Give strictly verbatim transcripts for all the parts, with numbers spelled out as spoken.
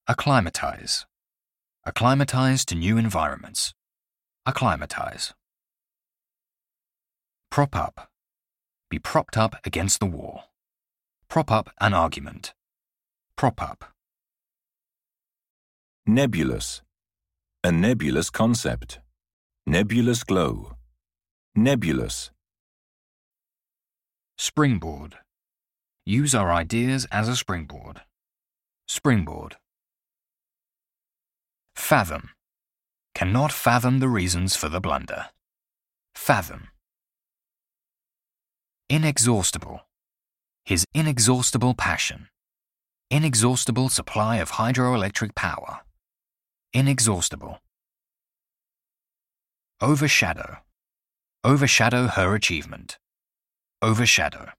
Acclimatize. Acclimatize to new environments. Acclimatize. Prop up. Be propped up against the wall. Prop up an argument. Prop up. Nebulous. A nebulous concept. Nebulous glow. Nebulous. Springboard. Use our ideas as a springboard. Springboard. Fathom. Cannot fathom the reasons for the blunder. Fathom. Inexhaustible. His inexhaustible passion. Inexhaustible supply of hydroelectric power. Inexhaustible. Overshadow. Overshadow her achievement. Overshadow.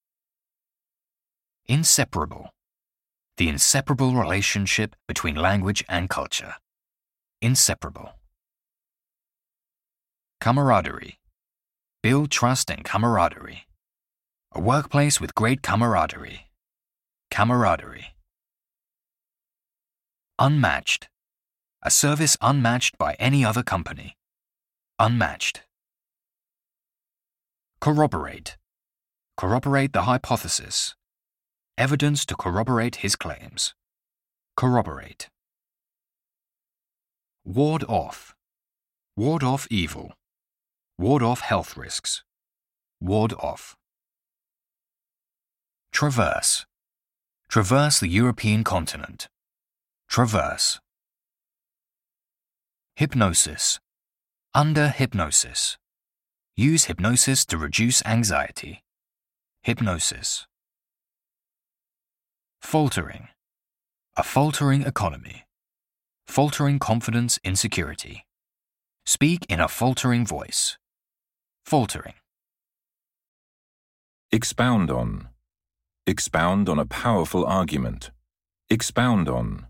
Inseparable. The inseparable relationship between language and culture. Inseparable. Camaraderie. Build trust and camaraderie. A workplace with great camaraderie. Camaraderie. Unmatched. A service unmatched by any other company. Unmatched. Corroborate. Corroborate the hypothesis. Evidence to corroborate his claims. Corroborate. Ward off. Ward off evil. Ward off health risks. Ward off. Traverse. Traverse the European continent. Traverse. Hypnosis. Under hypnosis. Use hypnosis to reduce anxiety. Hypnosis. Faltering. A faltering economy. Faltering confidence in security. Speak in a faltering voice. Faltering. Expound on. Expound on a powerful argument. Expound on.